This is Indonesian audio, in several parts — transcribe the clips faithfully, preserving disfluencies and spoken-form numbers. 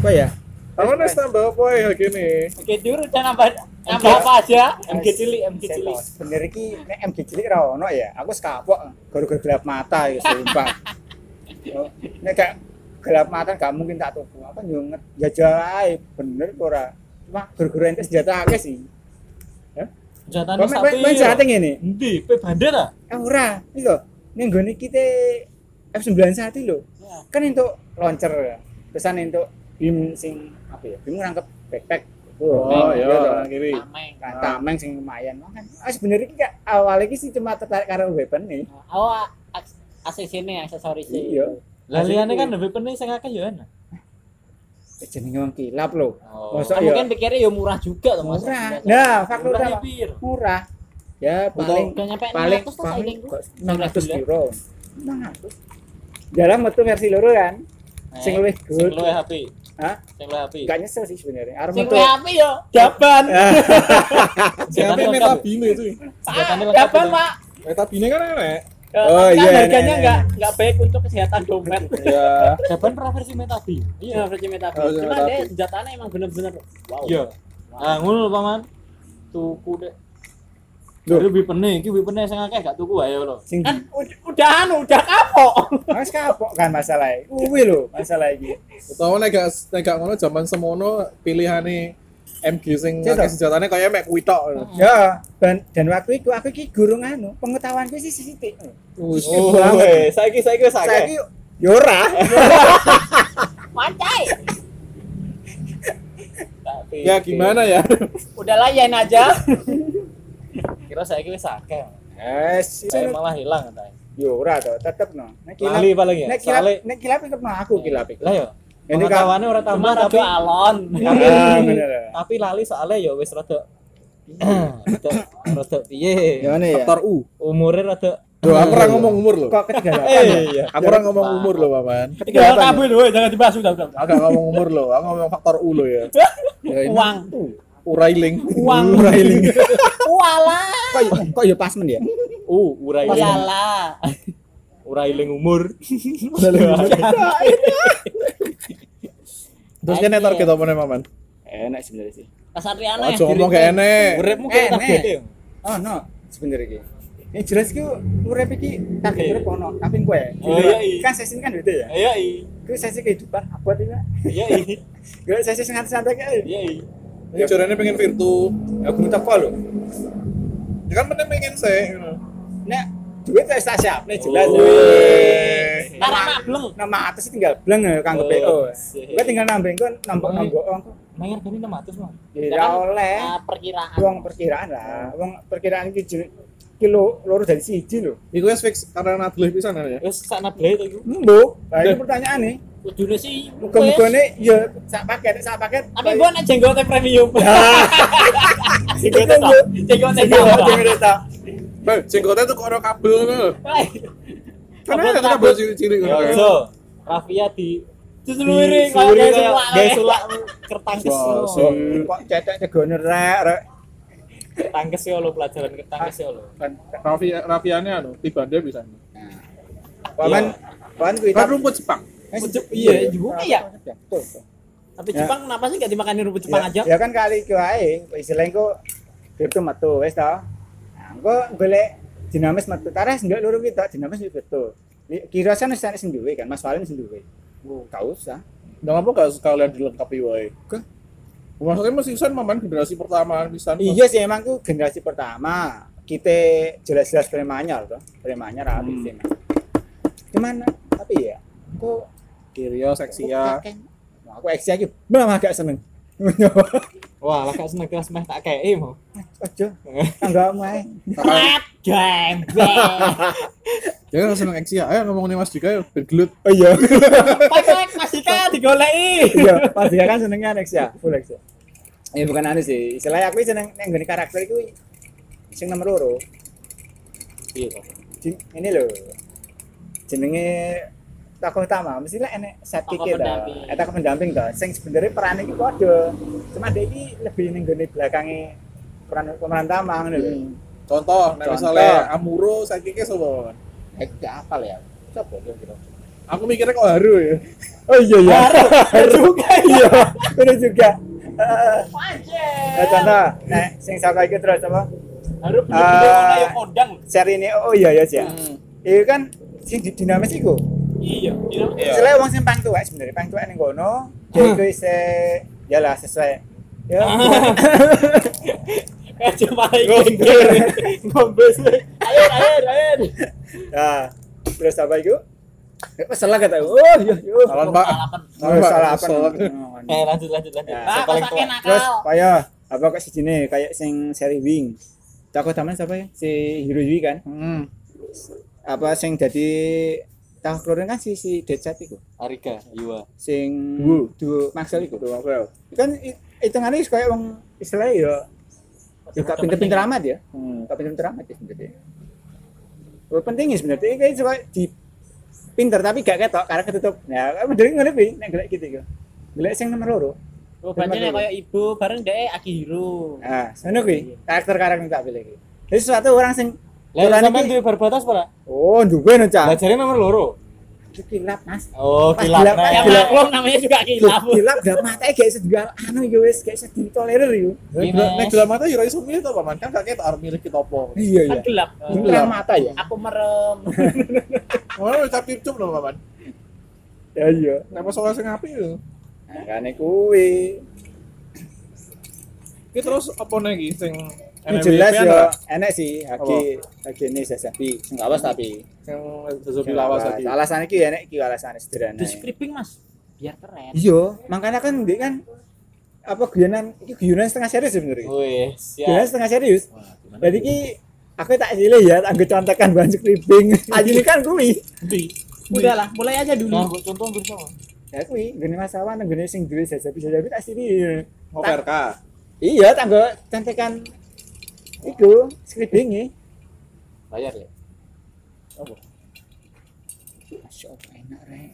Apa ya? Kamu wis tambah apa ya gini? Oke, jujur udah nambah nambah apa aja? M G cilik, M G cilik. Bener iki nek M G cilik ra ono ya. Aku sekapok gara-gara gelap mata ya sumpah. Nek gak gelap mata gak mungkin tak tuku. Apa yo jajal ae bener ora. Cuma gara-gara ente senjata akeh sih. Ya. Senjatane Kok sapi. main senjata ngene? Endi? Pe bandar ah? Eh ora, iki lho. Ning gone kita F sembilan puluh satu lho. Kan entuk launcher ya. Pesan entuk bim sing apa ya? Bim ngrangkep backpack. Oh iya, kanan kiri. Tameng. Kan tameng sing lumayan. Kan ah sebenarnya iki awalnya iki sih cuma tertarik karo weapon nih. Oh, A C C-ne aksesoris e. Iya. Lah liyane kan weapon-e sing akeh ya ana. Eh, jenenge wong kilap lho. Oh, Mosok kan ya mungkin pikirnya ya murah juga tuh Mas. murah. Nah, faktor Murah utama pir. murah. Ya paling Udah nyampe paling enam ratus tuh paling sainganku. kok enam ratus euro. enam ratus. Dalam metu versi loro kan. Sing luwih Sing good. luwih H P. Hah? Sing luwih H P. Gak nyesel sih sebenarnya. Arep Sing metu. luwih H P yo jaban. Siapa lengkap. metabine itu? Senjatane lengkap Jaban, itu. Pak. Metabine kan enak. Oh Oh, iya. iya, Harganya iya, enggak iya. enggak baik untuk kesehatan dompet. Iya. Jaban pernah versi metabi. Iya, versi metabi. Oh, iya, Cuma metabi. deh senjatanya emang bener-bener wow. Iya. Nah, ngono lho Paman. Tuku deh. Loh. Lho weapon-e, iki weapon-e sing akeh gak tuku ae lho. Sing Kan ud- udah anu, udah kapok. Mas kapok kan masalahnya. Kuwi lho masalah iki. Utawa nek gak nek gak ngono zaman semono pilihane M G sing Cek, akeh toh. senjatane kaya mek kuwi tok. Ya, dan, dan waktu itu aku iki gurung anu, pengetahuanku sih sithik. Wis. Oh, weh, saiki saiki wis Saiki yo ora. Mancai. Tapi Ya gimana ya? udah layan aja. Kira saya wis akeh. Yes, Saya malah hilang katanya. yo ora to, tetep no. Nek kilap, Lali paling ya. nek kilap, Soale- nek kilap tetep no aku kilap iku. Lah yo. Ini Pengetahuannya ora tambah cuma tapi rada alon. Ah, bener. Tapi lali soalnya ya wis rada rada rada piye? Ya ngene ya. Faktor U. Umure rada Loh, aku ora ngomong umur loh. Kok ketinggalan ya? iya. Aku ora ngomong umur loh, Paman. Ketinggalan kabeh lho, jangan dibahas udah udah. Aku gak ngomong umur loh, aku ngomong faktor U loh ya. Ya, ini Uang. Urailing. Uang. Urailing. Walah. Kok kok yo pasmen ya? Uh, urailing. Walah. Urailing umur. Terus kan target apa nih, Paman? Enak sebenarnya sih. Kasatriane. Aja ngomong gak enek. Uripmu kayak Enek. target ya. Oh no, sebenarnya iki. Ini jelas ku urip iki target urip ono, tapi kowe. Oh, iya, iya. Kan sesi kan beda ya. Iya, iya. Ku sesi kehidupan abot iki. Iya, iya. Gue sesi santai-santai kae. Iya, iya. Ini jarane pengen virtu. Aku teko lho. Ya kan pengen pengen sih. gitu. Nek duit wis tak siapne jelas. Wih. Karena mableng. Nama atas tinggal bleng ya kanggo Oh, P O. sih. Gue tinggal nambah engko nambah-nambah ongko. Bayar gini enam ratus, Bang. Ya oleh. Ah, perkiraan. Wong perkiraan lah. Wong perkiraan iki jil- kilo loro dari siji lho. Iku wis fix karena nadleh pisan kan ya. Wis sak nableh itu iku. Mbok, nah ini pertanyaan nih. Kudune sih. Muga-muga nih ya sak paket, sak paket. Tapi gua nek jenggote premium. Jenggote tok. Jenggote Jenggote tok. jenggote tok. Eh, jenggotnya tuh kok ada kabel ngono. Karena Kabel ada kabel kabel. cilik-cilik ngono. Ya, kan. so. Rafia di Diseluruhi Diseluruhi kayak kayak sulak, kayak sulak kertangkes. Wah, lo. so- Kok cetek cegone rek rek. Kertangkes ya lo pelajaran kertangkes ya lo. Kan Raffi Raffiannya anu, tibande bisa. paman paman kuwi Kan rumput Jepang. Iya, juga ya. Betul. Tapi Ya. Jepang kenapa sih gak dimakanin rumput Jepang Ya, aja? ya kan kali ku ae, istilahnya ku virtu metu wis to. Nah, engko golek dinamis metu. Tares ndak loro ki tok dinamis iki betul. Kira sana sana sing duwe kan, Mas Walin sing duwe. Oh, gak usah. Nggak apa gak sekalian dilengkapi wae. Kah? Maksudnya masih San Maman generasi pertama pisan. Iya sih emang ku generasi pertama. Kita jelas-jelas premanyar toh. Premanyar Hmm. habis sih. Cuman tapi ya, kok Kirio seksia. Nah, aku eksia iki belum agak seneng. Wah, lah gak seneng kelas meh tak kei mau. Ojo. Enggak main. Game. Jangan langsung eksia. Ayo ngomongin Mas Dika yuk, biar gelut. Oh iya. Pakai masih kan digoleki. Iya, pas dia kan senengnya eksia, full eksia. Ya bukan anu sih. Istilahnya aku seneng neng gini karakter iku sing nomor loro. Iya. Jin- Ini loh. Jenenge tokoh utama mesti lah enek sidekick Tokoh ta. pendamping. Eta pendamping ta. Sing sebenarnya peran iki padha. Cuma dia iki lebih ning gone belakange peran pemeran utama ngono lho. Contoh, nek Contoh. misalnya Amuro sakitnya sapa? Eh gak apal ya. Sopo kira-kira? Aku mikirnya kok haru ya. Oh iya iya. Haru juga Iya, bener juga. Heeh. Anjir. Nah, contoh, nek sing saka iki terus apa? Haru bener-bener Ah. ono ya kondang. Seri ini oh iya ya sih. Hmm. Itu kan sing di- dinamis iku. Iya, iya. Iya. Selain wong sing pang tuwek sebenarnya pang tuwek ning kono, dia iku isih ya lah sesuai. Ya. Eh cuma ngombe. Ngombe sih. Air, air, air. Nah, terus apa iku? Ya, salah kata. Oh, iya, iya. Salah, Pak. Oh, Pak, salah apa? salah. Eh lanjut lanjut lanjut. Ya. Yang paling tua. Terus kaya apa kok sijine kayak sing seri Wing. Cako taman siapa ya? Si Hiroyui kan. Hmm. Apa sing dadi tahu keluaran kan si si Deadshot iku. Arika, Yua. Sing Wu. du Maxwell iku. Kan i- hitungane wis kaya wong istilahnya ya ya gak pinter-pinter amat ya. Hmm, gak pinter-pinter amat ya sebenarnya. Oh, penting sebenarnya iki kayak suka di pinter tapi gak ketok karena ketutup. Ya, bener ngene kuwi nek golek gitu iku. Golek sing nomor loro. Oh, berarti nek koyo ibu bareng dhek Akihiro. Nah, ngono kuwi. Karakter-karakter yang tak pilih iki. Jadi suatu orang sing Lah Tulan sampean iki- duwe barbatas ora? oh, duwe no, Cak. Lah jare nomor loro. Itu kilap, Mas. Oh, Pas kilap. kilap, pas Ya kilap. maklum namanya juga kilap. Kilap gak matanya gak iso digal anu ya wis, gak iso ditolerir yo. Gimana? Nek dalam mata yo ora iso milih to, Paman. Kan gak ketok arep milih kita apa. Iya Kan iya. gelap. Terang mata ya. Aku merem. Ora wis cap cup lho, Paman. Ya iya. Nek pas soal sing apik yo. Nah, kane kuwi. Iki terus apa lagi sing Ini jelas ya, enak sih Haki Haki ini Sasabi, sing lawas tapi. yang Zozobi lawas tadi. Alasan iki enak iki alasan sederhana. Di scripting Mas. Biar keren. Iya, makanya kan ndek kan apa guyonan iki guyonan setengah serius sebenarnya. Wih, Guyonan siap. setengah serius. Jadi ki aku tak silih ya, aku contekan bahan scripting. Aja ini kan kuwi. Udahlah, mulai aja dulu. Nah, buat contoh bersama. Ya kuwi, gene masalah nang gene sing duwe Sasabi Sasabi tak silih. Ngoper ka. Iya, tanggo contekan iku scripting Bayar ya. Apa? Masya Allah enak rek.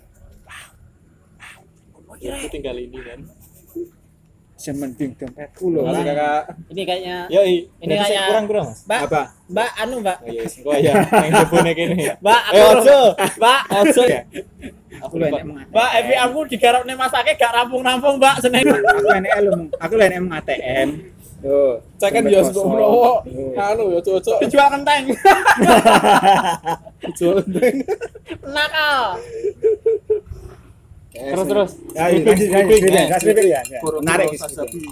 Aku tinggal ini kan. Sementing dompetku lho. Makasih Kakak. Ini kayaknya Yo, ini kayaknya Kurang-kurang, Mas. Mbak, apa? Mbak anu, Mbak. Oh iya, engko ya. Yang jebone kene. Mbak, aku Eh, ojo. Mbak, ojo ya. Aku lho enek mengate. Mbak, Evi aku digarapne masake gak rampung-rampung, Mbak, seneng. Aku enek lu, aku lho enek A T M. Yo, Cek kan dompet dia kosong. sebelum merowo. Yo. Anu ya cocok. Dijual kenteng. Jual ndeng. Nakal. Terus terus. Ya, iya, lanjut, lanjut, lanjut, lanjut, lanjut, ya, ya. Menarik gitu.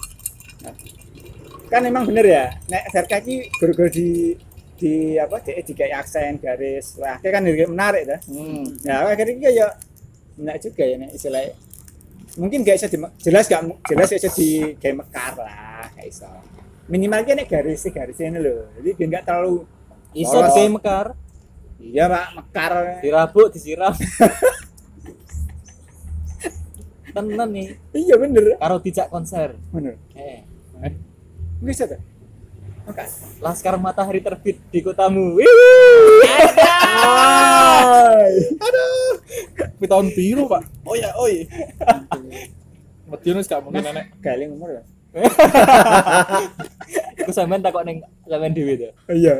Kan emang bener ya, nek Verka iki guru-guru di di apa di dikai aksen garis wah kayak kan ini menarik dah. Hmm. Ya akhirnya iki ya enak juga ya nek istilahnya mungkin gak bisa di, jelas gak jelas gak bisa di kayak mekar lah gak iso minimal ki nek garis garisnya ini loh jadi biar gak terlalu Iso Polos. kayak mekar. iya pak mekar Dirabuk, disiram. Tenan nih, iya bener karo dijak konser. bener Eh, bisa tuh mekar Laskar Matahari terbit di kotamu. Wih. Tapi tahun biru, Pak. Oh ya, oi. Medine gak mungkin enek. galing umur ya Aku sampean takok ning sampean dhewe to. oh, iya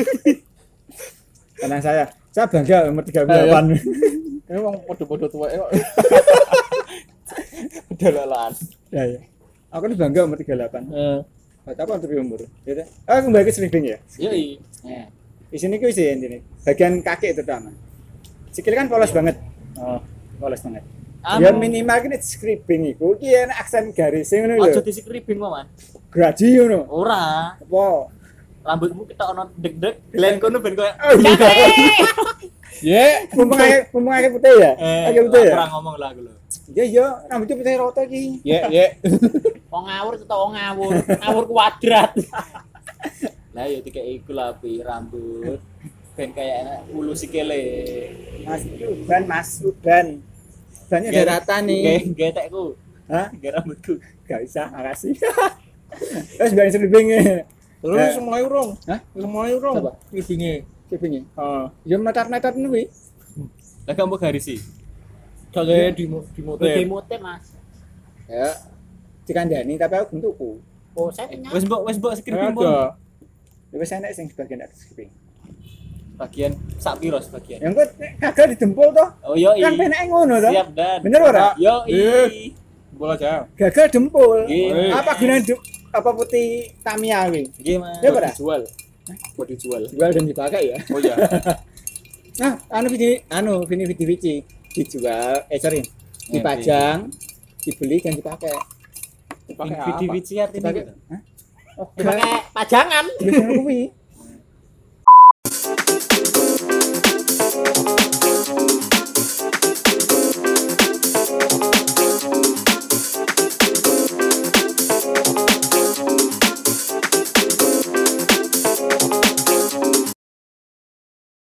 tenang saya saya bangga umur tiga puluh delapan Ini wong podo-podo tuweke kok. Udah lalan. ya ya aku nih bangga umur tiga puluh delapan Heeh. Gak tahu untuk umur gitu oh kembali ke slipping ya Yoi. ya. Di sini kuwi sih ini bagian kaki terutama sikil kan polos banget Oh. polos banget Anu. ya minimal kini scripting iku ki enak aksen garisnya ngono Aja lho di scripting Man. graji ngono Ora. apa Rambutmu kita ono deg-deg, glen kono ben koyo. oh iya Ye, mumpung ake mumpung ake putih ya Eh, ake putih ya ora ngomong lah aku lho. iya iya rambutnya putih rata iki ye, ye. Wong ngawur tetep wong ngawur, ngawur kuadrat. Lah ya dikek iku lah pi rambut. Ben kayak enak ulu sikile. mas uban mas uban bannya ada rata nih Getekku, hah ge rambutku. gak bisa makasih terus banyak slippingnya Terus Eh. wis mulai urung. Hah? Wis mulai urung. Apa? Libinge. slippingnya Heeh. ya metar-metar kuwi Lah kamu garisi. Kagak di di motor. Begemote Mas. ya dikandani tapi aku bentukku Oh, saya punya. Wes mbok wis mbok scripting Ada. ya wis enak sing bagian atas slipping Bagian sak piro sebagian. Yang kok gagal didempul toh. Oh yo Kan penake ngono toh. Siap dan. Bener ora? Yo Ih. Bola aja. Gagal dempul. Nggih. Apa gunanya du- apa putih Tamiya kuwi? Nggih, Mas. Ya, Pak? Dijual. Buat dijual. Jual dan dipakai ya. Oh iya. Nah, anu video anu vini video vici dijual eh sorry dipajang dibeli dan dipakai Dipakai Video apa? biji artinya dipakai gitu. Hah? Oh, Dipakai pajangan. biasanya kuwi